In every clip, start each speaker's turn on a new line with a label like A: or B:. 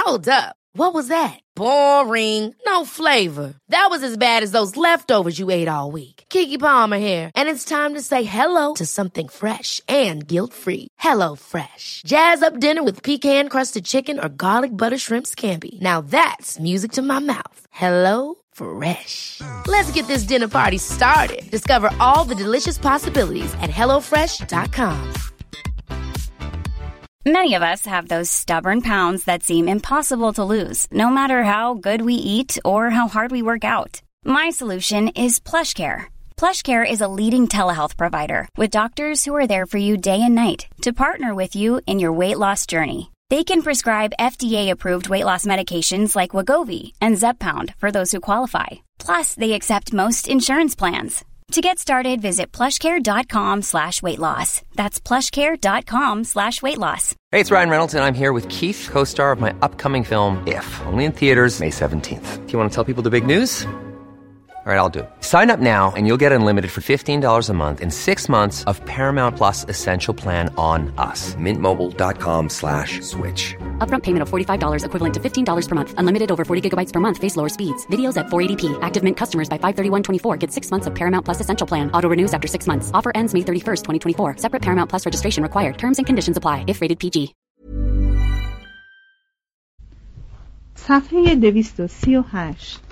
A: Hold up. What was that? Boring. No flavor. That was as bad as those leftovers you ate all week. Keke Palmer here, and it's time to say hello to something fresh and guilt-free. Hello Fresh. Jazz up dinner with pecan-crusted chicken or garlic butter shrimp scampi. Now that's music to my mouth. Hello Fresh. Let's get this dinner party started. Discover all the delicious possibilities at HelloFresh.com.
B: Many of us have those stubborn pounds that seem impossible to lose, no matter how good we eat or how hard we work out. My solution is PlushCare. PlushCare is a leading telehealth provider with doctors who are there for you day and night to partner with you in your weight loss journey. They can prescribe FDA-approved weight loss medications like Wegovy and Zepbound for those who qualify. Plus, they accept most insurance plans. To get started, visit plushcare.com/weightloss. That's plushcare.com/weightloss.
C: Hey, it's Ryan Reynolds, and I'm here with Keith, co-star of my upcoming film, If, only in theaters May 17th. Do you want to tell people the big news? All right, I'll do it. Sign up now and you'll get unlimited for $15 a month and 6 months of Paramount Plus Essential Plan on us. MintMobile.com/switch.
D: Upfront payment of $45 equivalent to $15 per month. Unlimited over 40 gigabytes per month. Face lower speeds. Videos at 480p. Active Mint customers by 531.24 get 6 months of Paramount Plus Essential Plan. Auto renews after 6 months. Offer ends May 31st, 2024. Separate Paramount Plus registration required. Terms and conditions apply if rated PG.
E: صفحه 238.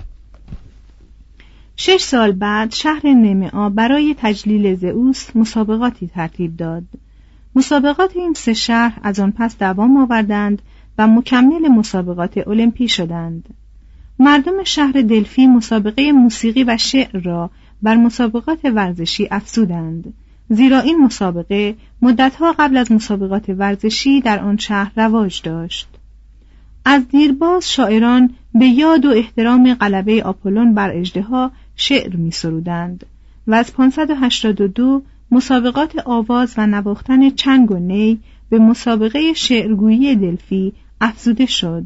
E: 6 سال بعد شهر نمعا برای تجلیل زئوس مسابقاتی ترتیب داد. مسابقات این 3 شهر از آن پس دوام آوردند و مکمل مسابقات المپی شدند. مردم شهر دلفی مسابقه موسیقی و شعر را بر مسابقات ورزشی افزودند، زیرا این مسابقه مدتها قبل از مسابقات ورزشی در آن شهر رواج داشت. از دیرباز شاعران به یاد و احترام غلبه آپولون بر اژدها شعر می سرودند و از 582 مسابقات آواز و نواختن چنگ و نی به مسابقه شعرگویی دلفی افزوده شد.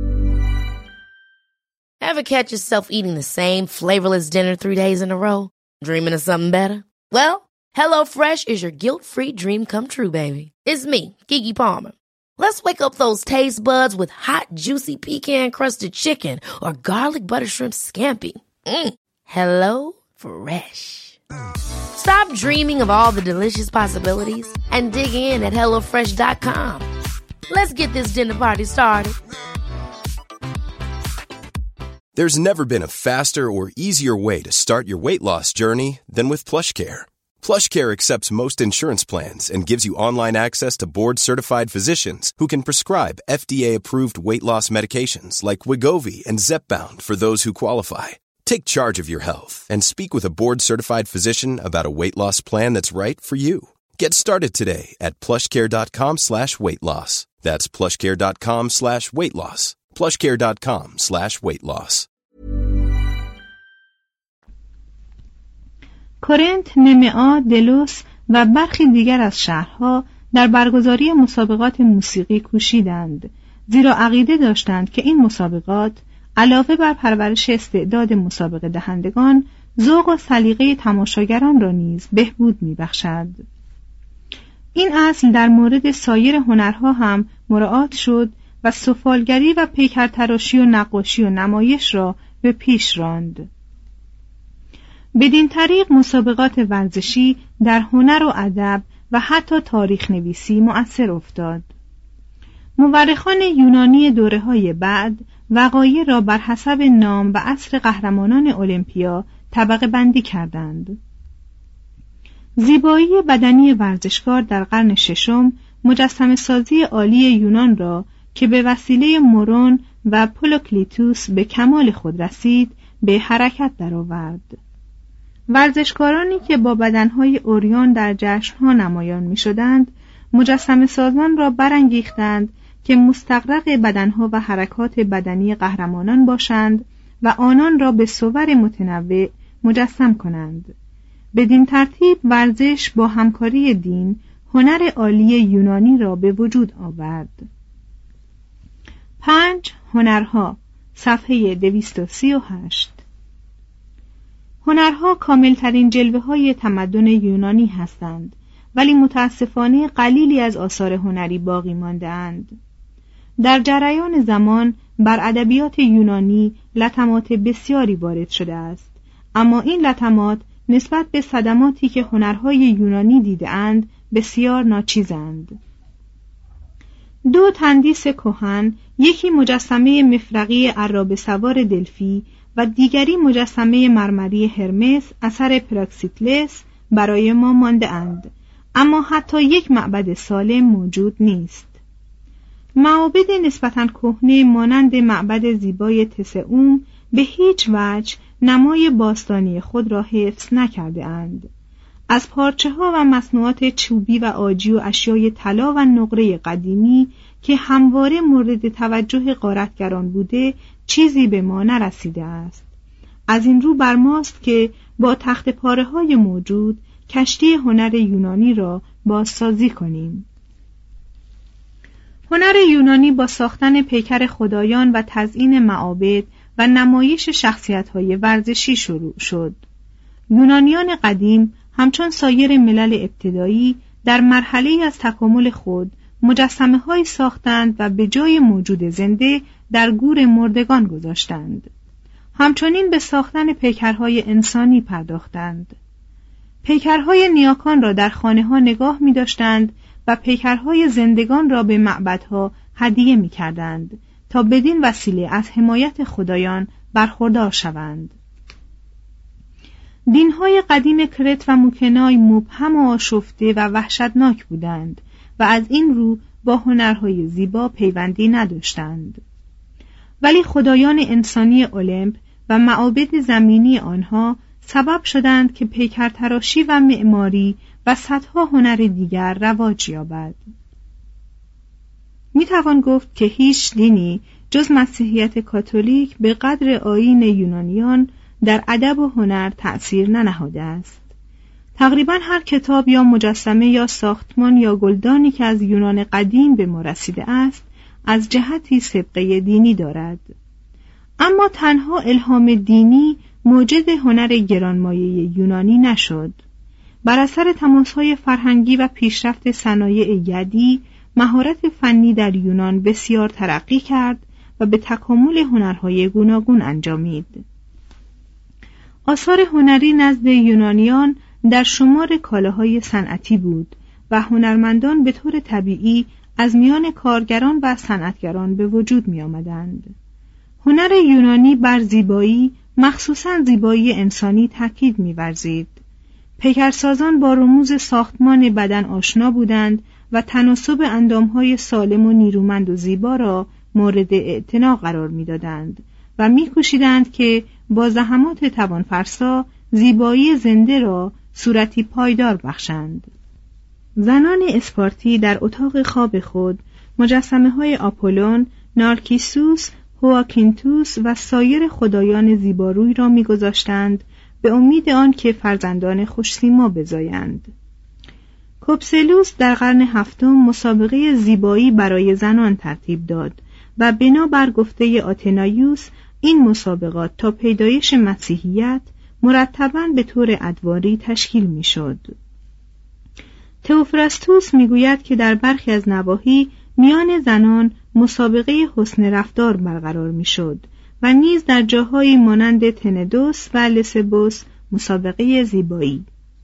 A: Ever catch yourself eating the same flavorless dinner 3 days in a row? Dreaming of something better? Well, HelloFresh is your guilt-free dream come true, baby. It's me, Keke Palmer. Let's wake up those taste buds with hot, juicy pecan-crusted chicken or garlic butter shrimp scampi. Hello Fresh. Stop dreaming of all the delicious possibilities and dig in at HelloFresh.com. Let's get this dinner party started.
F: There's never been a faster or easier way to start your weight loss journey than with PlushCare. PlushCare accepts most insurance plans and gives you online access to board-certified physicians who can prescribe FDA-approved weight loss medications like Wegovy and Zepbound for those who qualify. Take charge of your health and speak with a board-certified physician about a weight loss plan that's right for you. Get started today at plushcare.com/weightloss. That's plushcare.com/weightloss. plushcare.com/weightloss.
E: کورنت، نمعا، دلوس و برخی دیگر از شهرها در برگزاری مسابقات موسیقی کوشیدند، زیرا عقیده داشتند که این مسابقات علاوه بر پرورش استعداد مسابقه دهندگان، ذوق و سلیقه تماشاگران را نیز بهبود می‌بخشد. این اصل در مورد سایر هنرها هم مراعات شد و سفالگری و پیکرتراشی و نقاشی و نمایش را به پیش راند. بدین طریق مسابقات ورزشی در هنر و ادب و حتی تاریخ نویسی مؤثر افتاد. مورخان یونانی دوره‌های بعد وقایع را بر حسب نام و عصر قهرمانان المپیا طبقه بندی کردند. زیبایی بدنی ورزشکار در قرن ششم مجسمه سازی عالی یونان را که به وسیله مورون و پولوکلیتوس به کمال خود رسید به حرکت درآورد. ورزشکارانی که با بدنهای اوریان در جشنها نمایان می شدند، مجسمه سازان را برانگیختند که مستغرق بدنها و حرکات بدنی قهرمانان باشند و آنان را به صور متنوع مجسم کنند. بدین ترتیب ورزش با همکاری دین هنر عالی یونانی را به وجود آورد. 5. هنرها، صفحه 238. هنرها کاملترین جلوه های تمدن یونانی هستند، ولی متاسفانه قلیلی از آثار هنری باقی مانده اند. در جریان زمان بر ادبیات یونانی لطمات بسیاری وارد شده است، اما این لطمات نسبت به صدماتی که هنرهای یونانی دیده‌اند بسیار ناچیزند. دو تندیس کهن، یکی مجسمه مفرقی عرابه سوار دلفی و دیگری مجسمه مرمری هرمس اثر پراکسیتلس برای ما مانده اند، اما حتی یک معبد سالم موجود نیست. معابد نسبتاً کهنه مانند معبد زیبای تسعوم به هیچ وجه نمای باستانی خود را حفظ نکرده اند. از پارچه ها و مصنوعات چوبی و عاجی و اشیای طلا و نقره قدیمی که همواره مورد توجه غارتگران بوده چیزی به ما نرسیده است. از این رو بر ماست که با تخت پاره های موجود کشتی هنر یونانی را بازسازی کنیم. هنر یونانی با ساختن پیکر خدایان و تزیین معابد و نمایش شخصیت‌های ورزشی شروع شد. یونانیان قدیم همچون سایر ملل ابتدایی در مرحله‌ای از تکامل خود مجسمه‌هایی ساختند و به جای موجود زنده در گور مردگان گذاشتند. همچنین به ساختن پیکرهای انسانی پرداختند. پیکرهای نیاکان را در خانه‌ها نگاه می‌داشتند و پیکرهای زندگان را به معبدها هدیه می‌کردند تا بدین وسیله از حمایت خدایان برخوردار شوند. دین‌های قدیم کرت و موکنای مبهم و آشفته و وحشتناک بودند و از این رو با هنرهای زیبا پیوندی نداشتند. ولی خدایان انسانی المپ و معابد زمینی آنها سبب شدند که پیکرتراشی و معماری و صدها هنر دیگر رواج یابد. میتوان گفت که هیچ دینی جز مسیحیت کاتولیک به قدر آیین یونانیان در ادب و هنر تأثیر ننهاده است. تقریباً هر کتاب یا مجسمه یا ساختمان یا گلدانی که از یونان قدیم به ما رسیده است از جهتی سابقه دینی دارد. اما تنها الهام دینی موجد هنر گرانمایه یونانی نشد. بر اثر تماس‌های فرهنگی و پیشرفت صنایع یدی، مهارت فنی در یونان بسیار ترقی کرد و به تکامل هنرهای گوناگون انجامید. آثار هنری نزد یونانیان در شمار کالاهای صنعتی بود و هنرمندان به طور طبیعی از میان کارگران و صنعتگران به وجود می آمدند. هنر یونانی بر زیبایی، مخصوصاً زیبایی انسانی تاکید می ورزید. پیکرسازان با رموز ساختمان بدن آشنا بودند و تناسب اندامهای سالم و نیرومند و زیبا را مورد اعتنا قرار می دادند و می کوشیدند که با زحمات توانفرسا زیبایی زنده را صورتی پایدار بخشند. زنان اسپارتی در اتاق خواب خود مجسمه های آپولون، نارکیسوس، هواکینتوس و سایر خدایان زیباروی را می‌گذاشتند به امید آن که فرزندان خوش‌سیما بزایند. کوپسلوس در قرن هفتم مسابقه زیبایی برای زنان ترتیب داد و بنابر گفته آتنایوس این مسابقات تا پیدایش مسیحیت مرتباً به طور ادواری تشکیل می‌شد. تئوفراستوس می‌گوید که در برخی از نواحی میان زنان مسابقه حسن رفتار برقرار می‌شد و نیز در جاهایی مانند تندوس و لسبوس مسابقه زیبایی.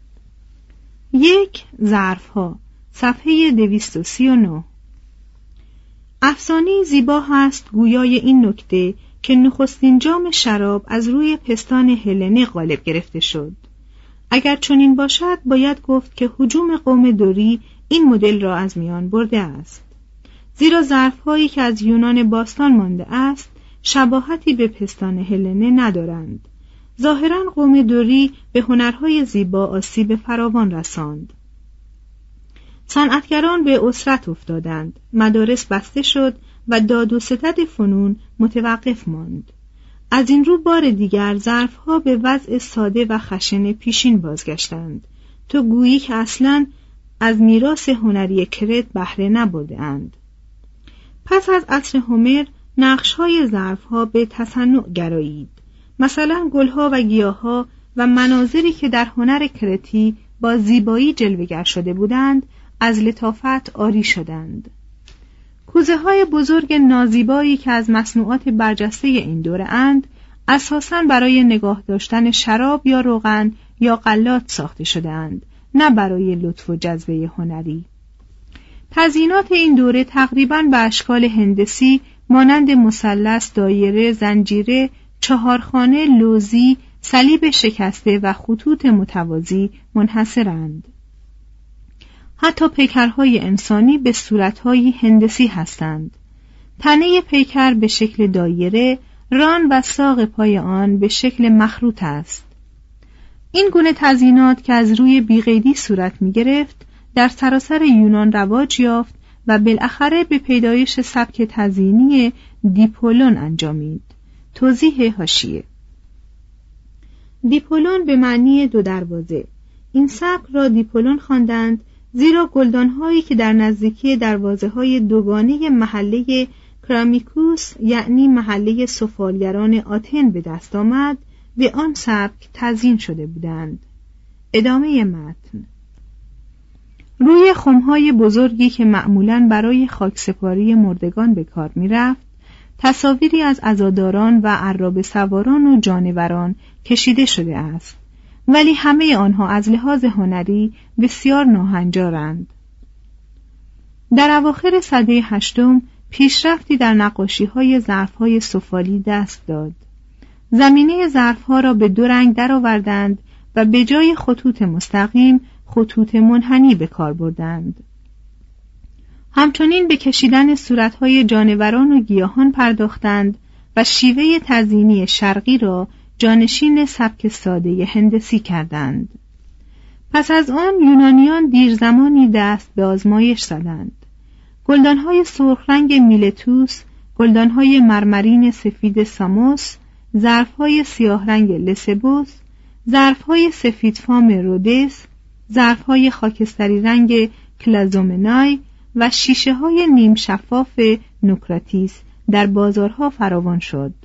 E: 1. ظرف‌ها، صفحه 239. افسانه‌ای زیبا هست گویای این نکته که نخستین جام شراب از روی پستان هلنه غالب گرفته شد. اگر چنین باشد باید گفت که هجوم قوم دوری این مدل را از میان برده است، زیرا ظرف‌هایی که از یونان باستان مانده است شباهتی به پستان هلنه ندارند. ظاهراً قوم دوری به هنرهای زیبا آسیب فراوان رساند. صنعتگران به اسرت افتادند، مدارس بسته شد و داد و ستد فنون متوقف ماند. از این رو بار دیگر ظرف‌ها به وضع ساده و خشن پیشین بازگشتند، تو گویی که اصلاً از میراث هنری کرت بهره نبرده‌اند. پس از عصر هومر نقش‌های ظرف‌ها به تصنع گرایید. مثلا گل‌ها و گیاه‌ها و مناظری که در هنر کرتی با زیبایی جلوه‌گر شده بودند از لطافت عاری شدند. کوزه‌های بزرگ نازیبایی که از مصنوعات برجسته این دوره اند، اساساً برای نگاه داشتن شراب یا روغن یا غلات ساخته شده اند، نه برای لطف و جذبه هنری. تزیینات این دوره تقریباً به اشکال هندسی مانند مثلث، دایره، زنجیره، چهارخانه، لوزی، صلیب شکسته و خطوط متوازی منحصرند. حتی پیکرهای انسانی به صورتهای هندسی هستند. تنه پیکر به شکل دایره، ران و ساق پای آن به شکل مخروط است. این گونه تزیینات که از روی بیقیدی صورت می گرفت در سراسر یونان رواج یافت و بالاخره به پیدایش سبک تزیینی دیپولون انجامید. توضیح حاشیه: دیپولون به معنی دو دروازه. این سبک را دیپولون خواندند زیرا گلدان‌هایی که در نزدیکی دروازه‌های دوگانه محله کرامیکوس یعنی محله سفالگران آتن به دست آمد به آن سبک تزیین شده بودند. ادامه متن. روی خم‌های بزرگی که معمولاً برای خاکسپاری مردگان به کار می‌رفت، تصاویری از عزاداران و عرابه سواران و جانوران کشیده شده است، ولی همه آنها از لحاظ هنری بسیار ناهنجارند. در اواخر سده هشتم پیشرفتی در نقاشی‌های ظرف‌های سفالی دست داد. زمینه ظرف‌ها را به دو رنگ درآوردند و به جای خطوط مستقیم خطوط منحنی به کار بردند. همچنین به کشیدن صورت‌های جانوران و گیاهان پرداختند و شیوه تزیینی شرقی را جانشین سبک ساده هندسی کردند. پس از آن یونانیان دیر زمانی دست به آزمایش زدند. گلدان‌های سرخ رنگ میلتوس، گلدان‌های مرمرین سفید ساموس، ظرف‌های سیاه رنگ لسبوس، ظرف‌های سفیدفام رودس، ظرف‌های خاکستری رنگ کلازومنای و شیشه‌های نیم شفاف نوکراتیس در بازارها فراوان شد.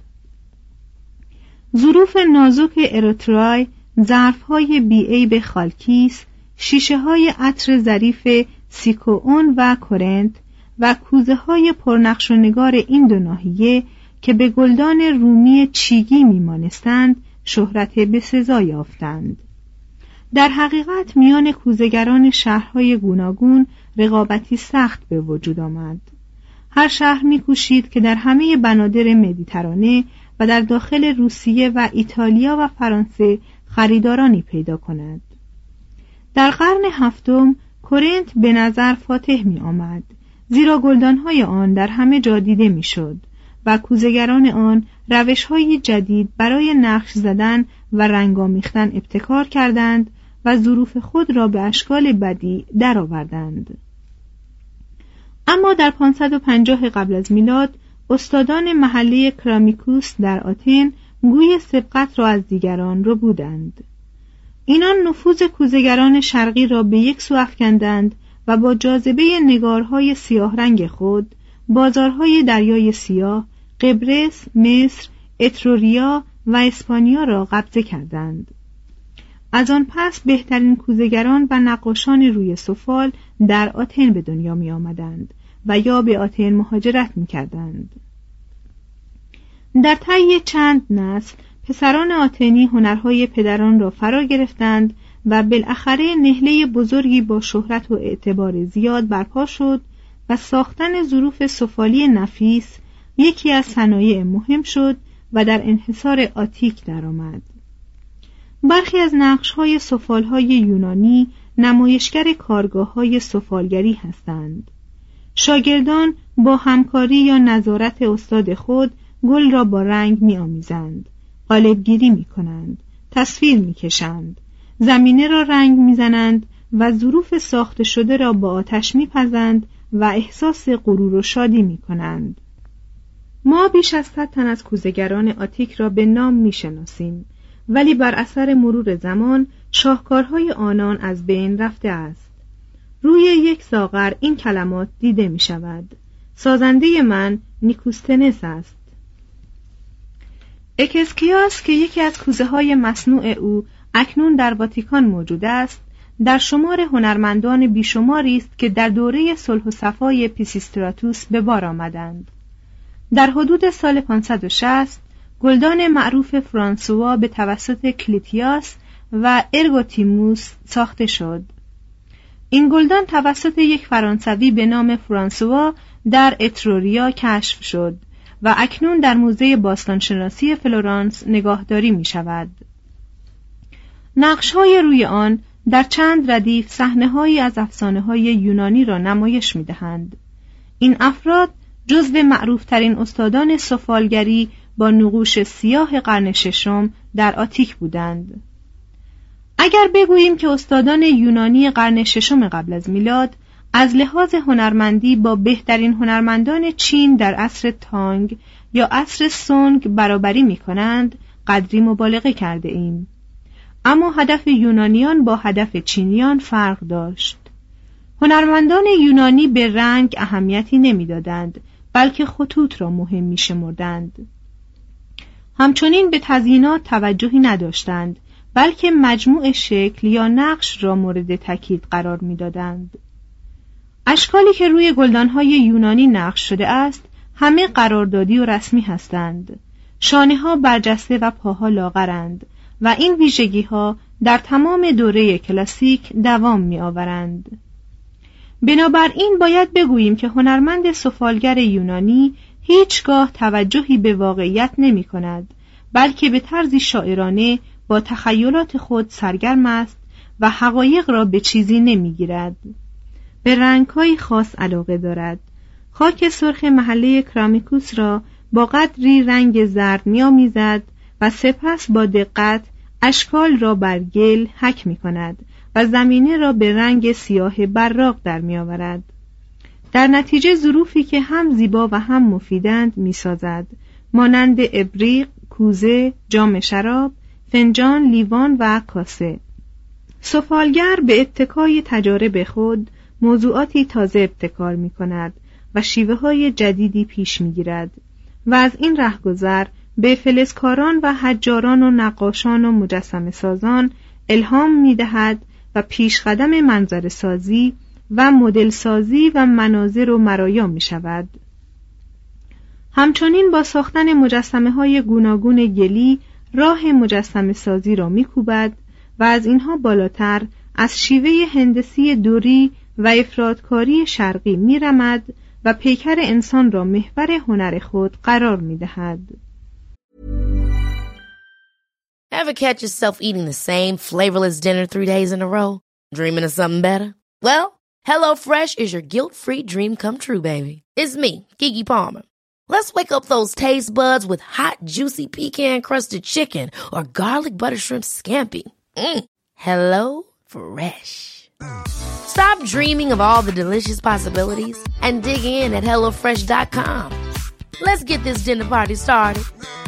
E: ظروف نازک اریترای، ظرف‌های بی‌عیب خالکیس، شیشه‌های عطر ظریف سیکوئون و کورنت و کوزه‌های پرنقش و نگار این دو ناحیه که به گلدان رومی چیگی میمانستند شهرت بسزا یافتند. در حقیقت میان کوزه‌گران شهرهای گوناگون رقابتی سخت به وجود آمد. هر شهر می‌کوشید که در همه بنادر مدیترانه و در داخل روسیه و ایتالیا و فرانسه خریدارانی پیدا کند. در قرن هفتم کورنت به نظر فاتح می آمد، زیرا گلدانهای آن در همه جا دیده می شد و کوزه‌گران آن روش‌های جدید برای نقش زدن و رنگ آمیختن ابتکار کردند و ظروف خود را به اشکال بدیع درآوردند. اما در 550 قبل از میلاد استادان محله کرامیکوس در آتن گوی سبقت را از دیگران ربودند. اینان نفوذ کوزه‌گران شرقی را به یک سو افکندند و با جاذبه نگارهای سیاه رنگ خود بازارهای دریای سیاه، قبرس، مصر، اتروریا و اسپانیا را قبضه کردند. از آن پس بهترین کوزه‌گران و نقاشان روی سفال در آتن به دنیا می آمدند و یا به آتن مهاجرت می کردند. در طی چند نسل پسران آتنی هنرهای پدران را فرا گرفتند و بالاخره نهله بزرگی با شهرت و اعتبار زیاد برپا شد و ساختن ظروف سفالی نفیس یکی از صنایع مهم شد و در انحصار آتیک درآمد. برخی از نقش‌های سفال‌های یونانی نمایشگر کارگاه‌های سفالگری هستند. شاگردان با همکاری یا نظارت استاد خود گل را با رنگ می‌آمیزند، قالب‌گیری می‌کنند، تصویر می‌کشند، زمینه را رنگ می‌زنند و ظروف ساخته شده را با آتش می‌پزند و احساس غرور و شادی می‌کنند. ما بیش از 100 تن از کوزه‌گران آتیک را به نام می‌شناسیم، ولی بر اثر مرور زمان شاهکارهای آنان از بین رفته است. روی یک ساغر این کلمات دیده می شود: سازنده من نیکوستنس است. اکسکیاس که یکی از کوزه‌های مصنوع او اکنون در واتیکان موجود است، در شمار هنرمندان بیشماری است که در دوره صلح و صفای پیسیستراتوس به بار آمدند. در حدود سال 560 گلدان معروف فرانسوا به توسط کلیتیاس و ارگوتیموس ساخته شد. این گلدان توسط یک فرانسوی به نام فرانسوا در اتروریا کشف شد و اکنون در موزه باستانشناسی فلورانس نگاهداری می شود. نقش‌های روی آن در چند ردیف صحنه‌هایی از افسانه‌های یونانی را نمایش می‌دهند. این افراد جزو معروف‌ترین استادان سفالگری با نقوش سیاه قرن ششم در آتیک بودند. اگر بگوییم که استادان یونانی قرن ششم قبل از میلاد از لحاظ هنرمندی با بهترین هنرمندان چین در عصر تانگ یا عصر سونگ برابری می‌کنند، قدری مبالغه کرده ایم. اما هدف یونانیان با هدف چینیان فرق داشت. هنرمندان یونانی به رنگ اهمیتی نمی‌دادند، بلکه خطوط را مهم می‌شمردند. همچنین به تزیینات توجهی نداشتند، بلکه مجموع شکل یا نقش را مورد تاکید قرار می‌دادند. اشکالی که روی گلدان‌های یونانی نقش شده است، همه قراردادی و رسمی هستند. شانه‌ها برجسته و پاها لاغرند و این ویژگی‌ها در تمام دوره کلاسیک دوام می‌آورند. بنابراین باید بگوییم که هنرمند سفالگر یونانی هیچگاه توجهی به واقعیت نمی‌کند، بلکه به طرزی شاعرانه با تخیلات خود سرگرم است و حقایق را به چیزی نمی‌گیرد. به رنگ‌های خاص علاقه دارد. خاک سرخ محله کرامیکوس را با قدری رنگ زرد می‌آمیزد و سپس با دقت اشکال را بر گل حک می‌کند و زمینه را به رنگ سیاه براق در می‌آورد. در نتیجه ظروفی که هم زیبا و هم مفیدند می‌سازد، مانند ابریق، کوزه، جام شراب، فنجان، لیوان و کاسه. سفالگر به اتکای تجارب خود موضوعاتی تازه ابتکار می‌کند و شیوه‌های جدیدی پیش می‌گیرد و از این رهگذر به فلزکاران و حجاران و نقاشان و مجسمه سازان الهام می‌دهد و پیشقدم منظر سازی و مدل سازی و مناظر و مرایا می‌شود. همچنین با ساختن مجسمه‌های گوناگون گلی راه مجسمه سازی را می‌کوبد و از اینها بالاتر از شیوه هندسی دوری و افرادکاری شرقی می‌رمد و پیکر انسان را محور هنر خود قرار می‌دهد.
A: Ever catch yourself eating the same flavorless dinner 3 days in a row? Dreaming of something better? Well, HelloFresh is your guilt-free dream come true, baby. It's me, Keke Palmer. Let's wake up those taste buds with hot, juicy pecan-crusted chicken or garlic butter shrimp scampi. HelloFresh. Stop dreaming of all the delicious possibilities and dig in at HelloFresh.com. Let's get this dinner party started.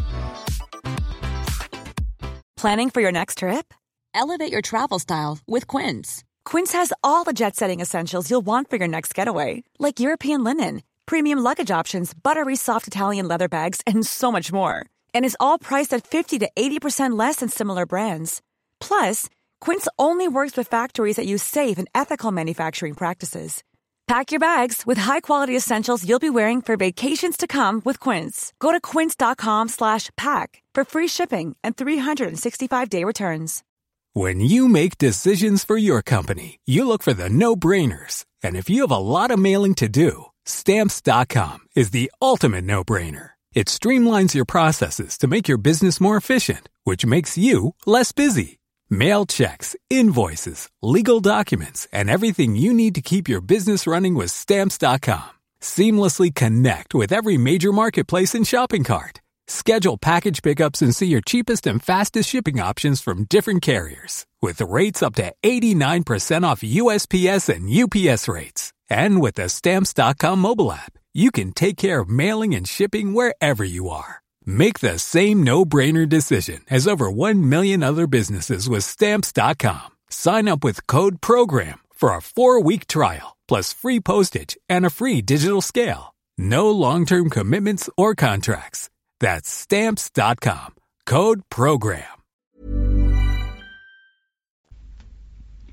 G: Planning for your next trip? Elevate your travel style with Quince. Quince has all the jet-setting essentials you'll want for your next getaway, like European linen, premium luggage options, buttery soft Italian leather bags, and so much more. And is all priced at 50 to 80% less than similar brands. Plus, Quince only works with factories that use safe and ethical manufacturing practices. Pack your bags with high-quality essentials you'll be wearing for vacations to come with Quince. Go to quince.com/pack for free shipping and 365-day returns.
H: When you make decisions for your company, you look for the no-brainers. And if you have a lot of mailing to do, Stamps.com is the ultimate no-brainer. It streamlines your processes to make your business more efficient, which makes you less busy. Mail checks, invoices, legal documents, and everything you need to keep your business running with Stamps.com. Seamlessly connect with every major marketplace and shopping cart. Schedule package pickups and see your cheapest and fastest shipping options from different carriers, with rates up to 89% off USPS and UPS rates. And with the Stamps.com mobile app, you can take care of mailing and shipping wherever you are. Make the same no-brainer decision as over 1 million other businesses with Stamps.com. Sign up with code PROGRAM for a 4-week trial, plus free postage and a free digital scale. No long-term commitments or contracts. That's Stamps.com. Code PROGRAM.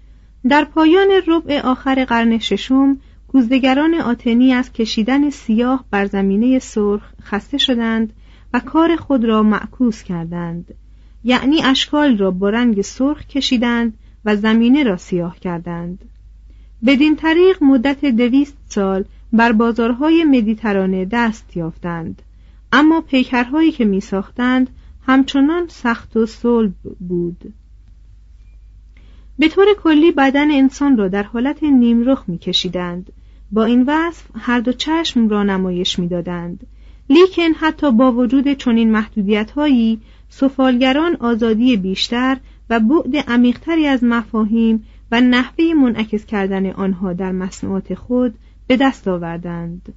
E: در پایان ربع آخر قرن ششم کوزدگران آتنی از کشیدن سیاه بر زمینه سرخ خسته شدند و کار خود را معکوس کردند، یعنی اشکال را با رنگ سرخ کشیدند و زمینه را سیاه کردند. بدین طریق مدت 200 سال بر بازارهای مدیترانه دست یافتند، اما پیکرهایی که می ساختند همچنان سخت و صلب بود. به طور کلی بدن انسان را در حالت نیمرخ می کشیدند. با این وصف هر دو چشم را نمایش می دادند. لیکن حتی با وجود چنین محدودیت‌هایی، سفالگران آزادی بیشتر و بعد عمیق‌تری از مفاهیم و نحوه منعکس کردن آنها در مصنوعات خود به دست آوردند.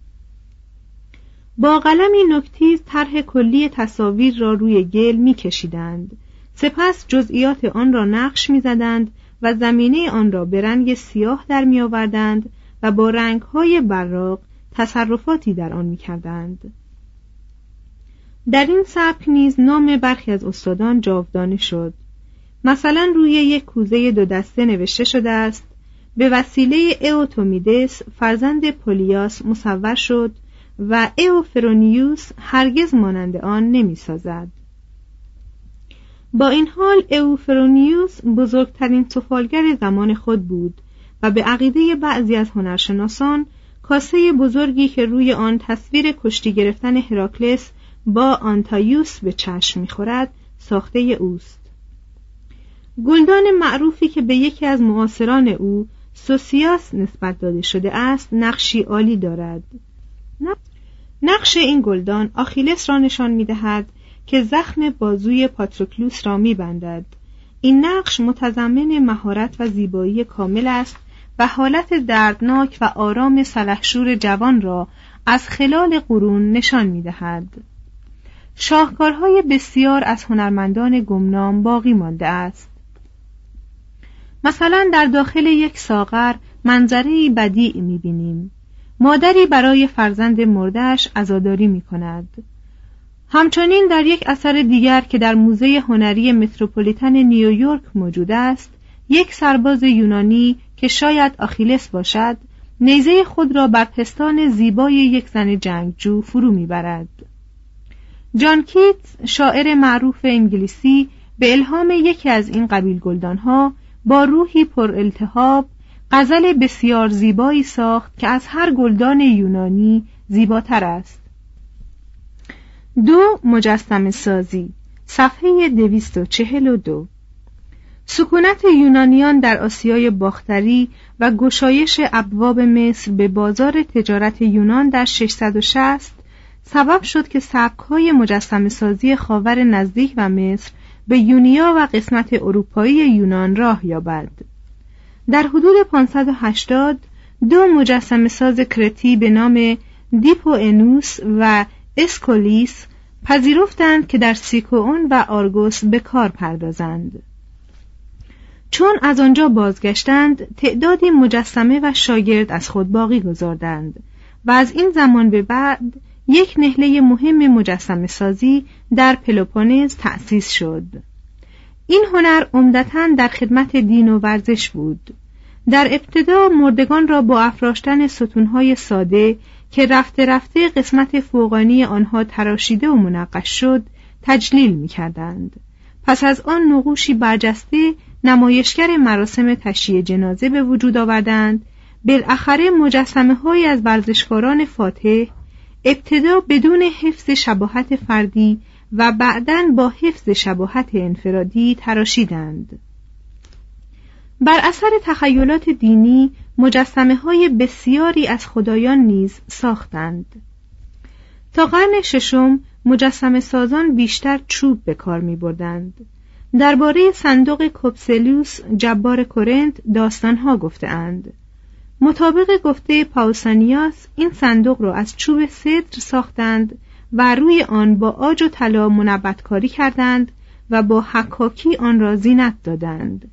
E: با قلمی نوک‌تیز طرح کلی تصاویر را روی گل می‌کشیدند، سپس جزئیات آن را نقش می‌زدند و زمینه آن را به رنگ سیاه در می‌آوردند و با رنگ‌های براق تصرفاتی در آن می‌کردند. در این سبک نیز نام برخی از استادان جاودانه شد. مثلا روی یک کوزه 2 دسته نوشته شده است: به وسیله ایوتومیدس فرزند پولیاس مصور شد و ایوفرونیوس هرگز مانند آن نمی‌سازد. با این حال ایوفرونیوس بزرگترین سفالگر زمان خود بود و به عقیده بعضی از هنرشناسان کاسه بزرگی که روی آن تصویر کشتی گرفتن هراکلس با آنتایوس به چشم می‌خورد ساخته اوست. گلدان معروفی که به یکی از معاصران او سوسیاس نسبت داده شده است نقشی عالی دارد. نقش این گلدان آخیلس را نشان می‌دهد که زخم بازوی پاتروکلوس را می‌بندد. این نقش متضمن مهارت و زیبایی کامل است و حالت دردناک و آرام سلحشور جوان را از خلال قرون نشان می‌دهد. شاهکارهای بسیار از هنرمندان گمنام باقی مانده است. مثلا در داخل یک ساغر منظره‌ای بدیع می‌بینیم. مادری برای فرزند مرده‌اش عزاداری می‌کند. همچنین در یک اثر دیگر که در موزه هنری متروپولیتن نیویورک موجود است، یک سرباز یونانی که شاید آخیلس باشد، نیزه خود را بر پستان زیبای یک زن جنگجو فرو می‌برد. جان کیتس، شاعر معروف انگلیسی، به الهام یکی از این قبیل گلدانها با روحی پر التهاب غزل بسیار زیبایی ساخت که از هر گلدان یونانی زیباتر است. 2. مجسمه سازی، صفحه 242. سکونت یونانیان در آسیای باختری و گشایش ابواب مصر به بازار تجارت یونان در 660 سبب شد که سبک‌های مجسمه سازی خاور نزدیک و مصر به یونیا و قسمت اروپایی یونان راه یابد. در حدود 580 2 مجسمه ساز کرتی به نام دیپوئنوس و اسکولیس پذیرفتند که در سیکوئون و آرگوس به کار پردازند. چون از آنجا بازگشتند، تعدادی مجسمه و شاگرد از خود باقی گذاردند و از این زمان به بعد یک نهله مهم مجسمه سازی در پلوپونز تأسیس شد. این هنر عمدتاً در خدمت دین و ورزش بود. در ابتدا مردگان را با افراشتن ستونهای ساده که رفته رفته قسمت فوقانی آنها تراشیده و منقش شد تجلیل می کردند. پس از آن نقوشی برجسته نمایشگر مراسم تشییع جنازه به وجود آوردند. بالاخره مجسمه های از ورزشکاران فاتح ابتدا بدون حفظ شباهت فردی و بعداً با حفظ شباهت انفرادی تراشیدند. بر اثر تخیلات دینی مجسمه های بسیاری از خدایان نیز ساختند. تا قرن ششم مجسمه سازان بیشتر چوب به کار می بردند. درباره صندوق کوپسلیوس جبار کورنت داستانها گفته اند. مطابق گفته پاوسانیاس این صندوق را از چوب سدر ساختند و روی آن با عاج و طلا منبت‌کاری کردند و با حکاکی آن را زینت دادند.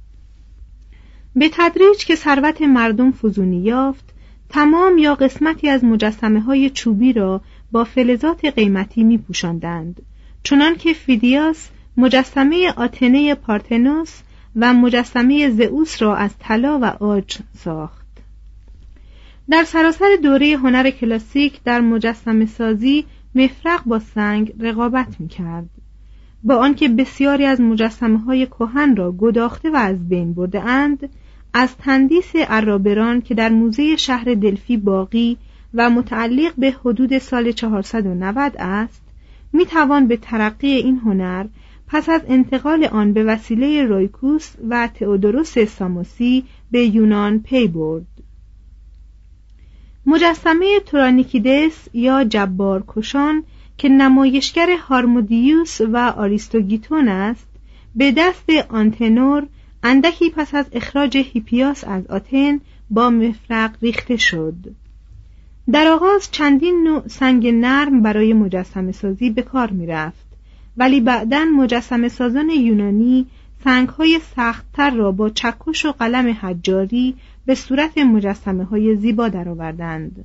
E: به تدریج که ثروت مردم فزونی یافت، تمام یا قسمتی از مجسمه‌های چوبی را با فلزات قیمتی می‌پوشاندند، چنان که فیدیاس مجسمه آتنه پارتنوس و مجسمه زئوس را از طلا و عاج ساخت. در سراسر دوره هنر کلاسیک در مجسمه سازی مفرق با سنگ رقابت می‌کرد. با آنکه بسیاری از مجسمه‌های کهن را گداخته و از بین برده‌اند، از تندیس عرابران که در موزه شهر دلفی باقی و متعلق به حدود سال 490 است، می‌توان به ترقی این هنر پس از انتقال آن به وسیله رویکوس و تئودوروس ساموسی به یونان پی برد. مجسمه تورانیکیدس یا جبار کشان که نمایشگر هارمودیوس و آریستوگیتون است، به دست آنتنور اندکی پس از اخراج هیپیاس از آتن با مفرق ریخته شد. در آغاز چندین نوع سنگ نرم برای مجسمه سازی به کار می رفت، ولی بعداً مجسمه سازان یونانی سنگ‌های سخت‌تر را با چکش و قلم حجاری به صورت مجسمه‌های زیبا درآوردند.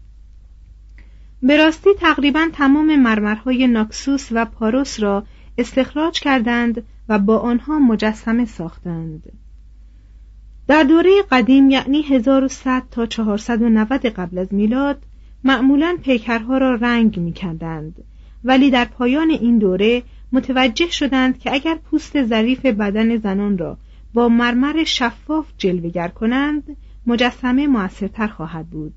E: به راستی تقریباً تمام مرمرهای ناکسوس و پاروس را استخراج کردند و با آنها مجسمه ساختند. در دوره قدیم یعنی 1100 تا 490 قبل از میلاد معمولاً پیکرها را رنگ می‌کردند، ولی در پایان این دوره متوجه شدند که اگر پوست ظریف بدن زنان را با مرمر شفاف جلوه‌گر کنند، مجسمه مؤثرتر خواهد بود.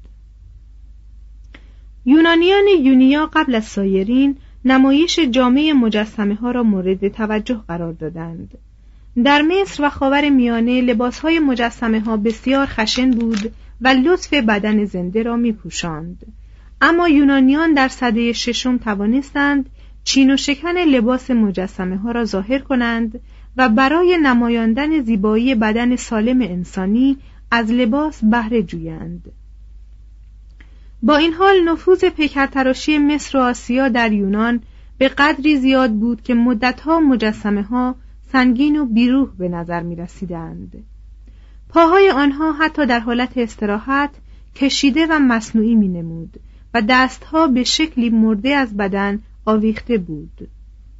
E: یونانیان یونیا قبل از سایرین نمایش جامع مجسمه ها را مورد توجه قرار دادند. در مصر و خاورمیانه لباسهای مجسمه ها بسیار خشن بود و لطف بدن زنده را می پوشاند. اما یونانیان در سده ششم توانستند چین و شکن لباس مجسمه ها را ظاهر کنند و برای نمایاندن زیبایی بدن سالم انسانی از لباس بهره جویند. با این حال نفوذ پیکرتراشی مصر و آسیا در یونان به قدری زیاد بود که مدتها مجسمه ها سنگین و بیروح به نظر می رسیدند. پاهای آنها حتی در حالت استراحت کشیده و مصنوعی می نمود و دستها به شکلی مرده از بدن آویخته بود.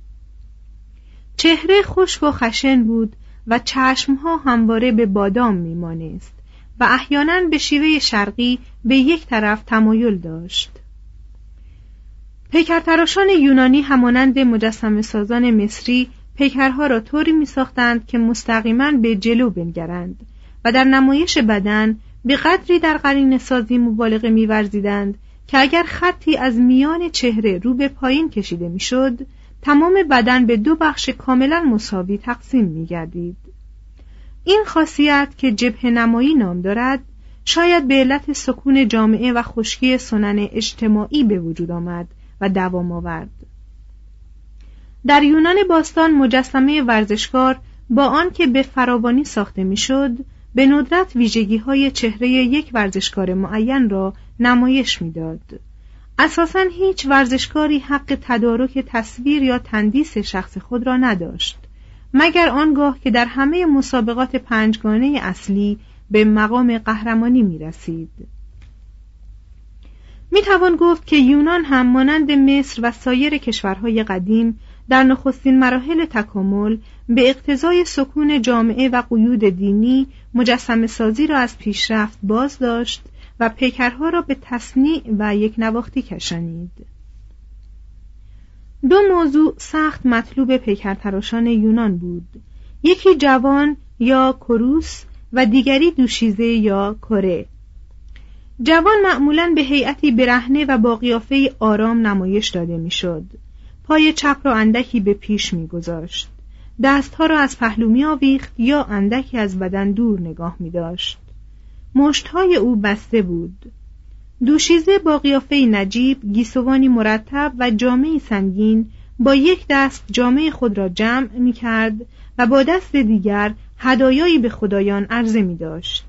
E: چهره خشک و خشن بود و چشمها همواره به بادام می مانست و احیانا به شیوه شرقی به یک طرف تمایل داشت. پیکرتراشان یونانی همانند مجسمه سازان مصری پیکرها را طوری می ساختند که مستقیما به جلو بنگرند و در نمایش بدن به قدری در قرینه سازی مبالغه می ورزیدند که اگر خطی از میان چهره رو به پایین کشیده می شد، تمام بدن به دو بخش کاملا مساوی تقسیم می گردید. این خاصیت که جبهه نمایی نام دارد، شاید به علت سکون جامعه و خشکی سنن اجتماعی به وجود آمد و دوام آورد. در یونان باستان مجسمه ورزشکار با آن که به فراوانی ساخته میشد، به ندرت ویژگی‌های چهره یک ورزشکار معین را نمایش می‌داد. اساساً هیچ ورزشکاری حق تدارک تصویر یا تندیس شخص خود را نداشت، مگر آنگاه که در همه مسابقات پنجگانه اصلی به مقام قهرمانی می‌رسید. می‌توان گفت که یونان هم مانند مصر و سایر کشورهای قدیم در نخستین مراحل تکامل به اقتضای سکون جامعه و قیود دینی مجسمه سازی را از پیشرفت باز داشت و پیکرها را به تصنیع و یک نواختی کشانید. دو موضوع سخت مطلوب پیکرتراشان یونان بود، یکی جوان یا کروس و دیگری دوشیزه یا کره. جوان معمولاً به هیئتی برهنه و با قیافه‌ای آرام نمایش داده میشد. پای چپ را اندکی به پیش می‌گذاشت، دستها را از پهلو می‌آویخت یا اندکی از بدن دور نگاه می‌داشت. مشت‌های او بسته بود. دوشیزه با قیافه‌ای نجیب، گیسوانی مرتب و جامه‌ای سنگین با یک دست جامه خود را جمع می‌کرد و با دست دیگر هدایایی به خدایان عرضه می‌داشت.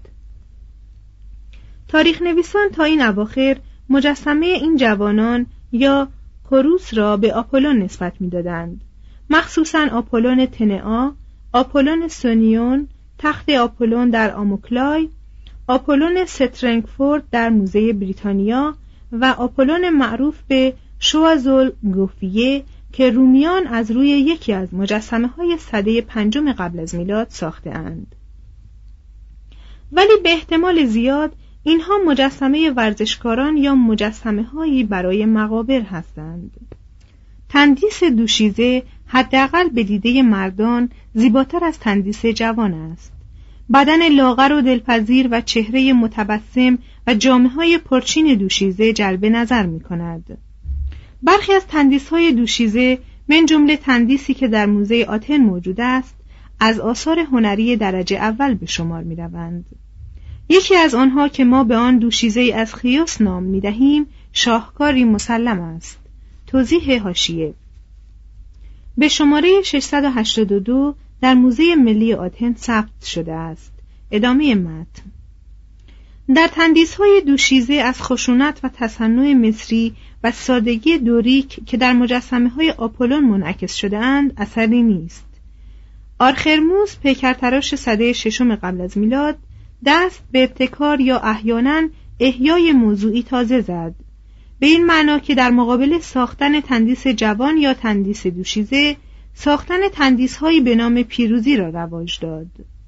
E: تاریخ نویسان تا این اواخر مجسمه این جوانان یا کروس را به آپولون نسبت می‌دادند، مخصوصاً آپولون تنئا، آپولون سونیون، تخت آپولون در آموکلای، آپولون سترنگفورد در موزه بریتانیا و آپولون معروف به شوازول گوفیه که رومیان از روی یکی از مجسمه‌های سده 5 قبل از میلاد ساخته‌اند. ولی به احتمال زیاد اینها مجسمه ورزشکاران یا مجسمه‌هایی برای مقابر هستند. تندیس دوشیزه حداقل به دیده مردان زیباتر از تندیس جوان است. بدن لاغر و دلپذیر و چهره متبسم و جامه‌های پرچین دوشیزه جلب نظر می‌کند. برخی از تندیس‌های دوشیزه من جمله تندیسی که در موزه آتن موجود است از آثار هنری درجه اول به شمار می‌روند. یکی از آنها که ما به آن دوشیزه از خیوس نام می‌دهیم شاهکاری مسلم است. توضیح حاشیه: به شماره 682 در موزه ملی آتن ثبت شده است. ادامه متن. در تندیس‌های دوشیزه از خشونت و تصنع مصری و سادگی دوریک که در مجسمه‌های آپولون منعکس شده اند اثری نیست. آرخرموس پیکرتراش سده 6 قبل از میلاد دست به ابتکار یا احیانا احیای موضوعی تازه زد، به این معنا که در مقابل ساختن تندیس جوان یا تندیس دوشیزه ساختن تندیس‌هایی به نام پیروزی را رواج داد.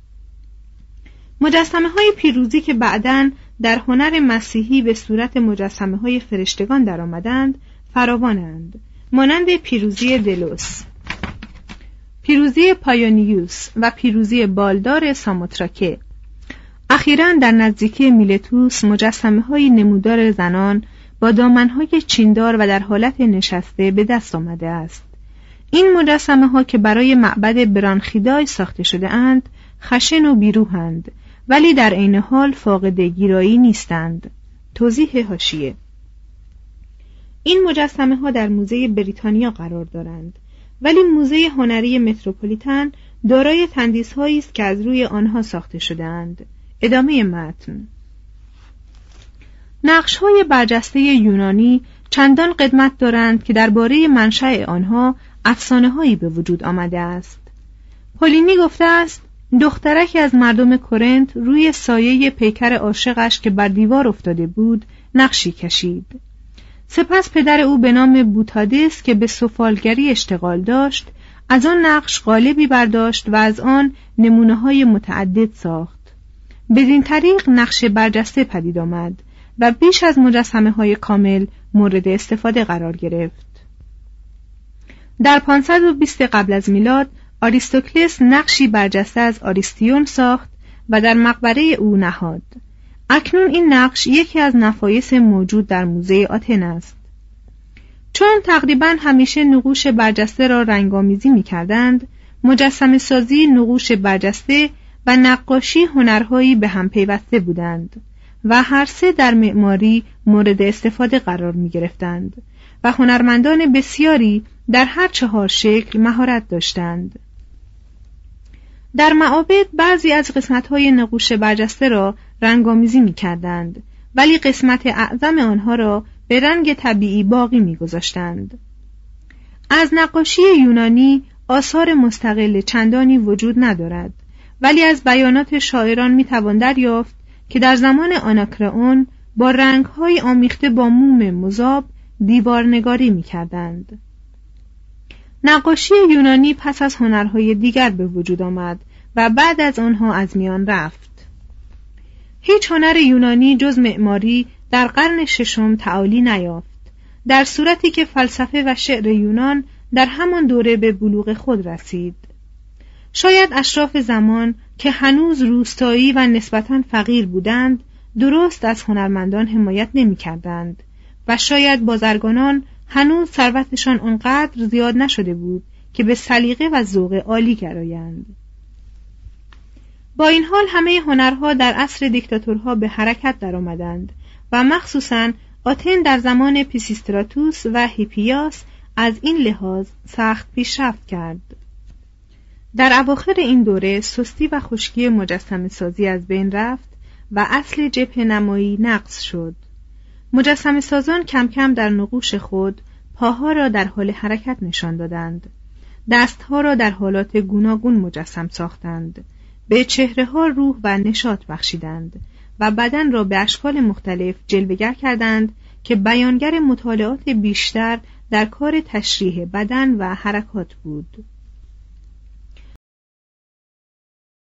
E: مجسمه‌های پیروزی که بعداً در هنر مسیحی به صورت مجسمه‌های فرشتگان درآمدند فراوانند، مانند پیروزی دلوس، پیروزی پایونیوس و پیروزی بالدار ساموتراکه. اخیراً در نزدیکی میلتوس مجسمه‌های نمودار زنان با دامن‌های چیندار و در حالت نشسته به دست آمده است. این مجسمه‌ها که برای معبد برانخیدای ساخته شده اند خشن و بیروحند، ولی در عین حال فاقد گیرایی نیستند. توضیح حاشیه: این مجسمه‌ها در موزه بریتانیا قرار دارند، ولی موزه هنری متروپولیتن دارای تندیس‌هایی است که از روی آنها ساخته شده‌اند. ادامه متن. نقش‌های برجسته یونانی چندان قدمت دارند که درباره منشأ آنها افسانه‌هایی به وجود آمده است. پولینی گفته است دخترکی از مردم کرنت روی سایه پیکر عاشقش که بر دیوار افتاده بود نقشی کشید. سپس پدر او به نام بوتادس که به سفالگری اشتغال داشت از آن نقش قالبی برداشت و از آن نمونه‌های متعدد ساخت. بدین طریق نقش برجسته پدید آمد و بیش از مجسمه‌های کامل مورد استفاده قرار گرفت. در 520 قبل از میلاد آریستوکلس نقشی برجسته از آریستیون ساخت و در مقبره او نهاد. اکنون این نقش یکی از نفایس موجود در موزه آتن است. چون تقریباً همیشه نقوش برجسته را رنگامیزی می‌کردند، مجسمه سازی، نقوش برجسته و نقاشی هنرهایی به هم پیوسته بودند و هر سه در معماری مورد استفاده قرار می‌گرفتند و هنرمندان بسیاری در هر 4 شکل مهارت داشتند. در معابد بعضی از قسمت‌های نقوش برجسته را رنگامیزی می‌کردند، ولی قسمت اعظم آنها را به رنگ طبیعی باقی می‌گذاشتند. از نقاشی یونانی آثار مستقل چندانی وجود ندارد، ولی از بیانات شاعران می‌توان دریافت که در زمان آناکرئون با رنگ‌های آمیخته با موم مذاب دیوارنگاری می‌کردند. نقاشی یونانی پس از هنرهای دیگر به وجود آمد و بعد از آنها از میان رفت. هیچ هنر یونانی جز معماری در قرن 6 تعالی نیافت، در صورتی که فلسفه و شعر یونان در همان دوره به بلوغ خود رسید. شاید اشراف زمان که هنوز روستایی و نسبتاً فقیر بودند درست از هنرمندان حمایت نمی‌کردند و شاید بازرگانان هنوز ثروتشان آنقدر زیاد نشده بود که به سلیقه و ذوق عالی گرایند. با این حال همه هنرها در عصر دیکتاتورها به حرکت درآمدند و مخصوصاً آتن در زمان پیسیستراتوس و هیپیاس از این لحاظ سخت پیشرفت کرد. در اواخر این دوره سستی و خشکی مجسمه سازی از بین رفت و اصل جبهه نمایی نقض شد. مجسمه سازان کم کم در نقوش خود پاها را در حال حرکت نشان دادند، دستها را در حالات گوناگون مجسم ساختند، به چهره‌ها روح و نشاط بخشیدند و بدن را به اشکال مختلف جلوه‌گر کردند که بیانگر مطالعات بیشتر در کار تشریح بدن و حرکات بود.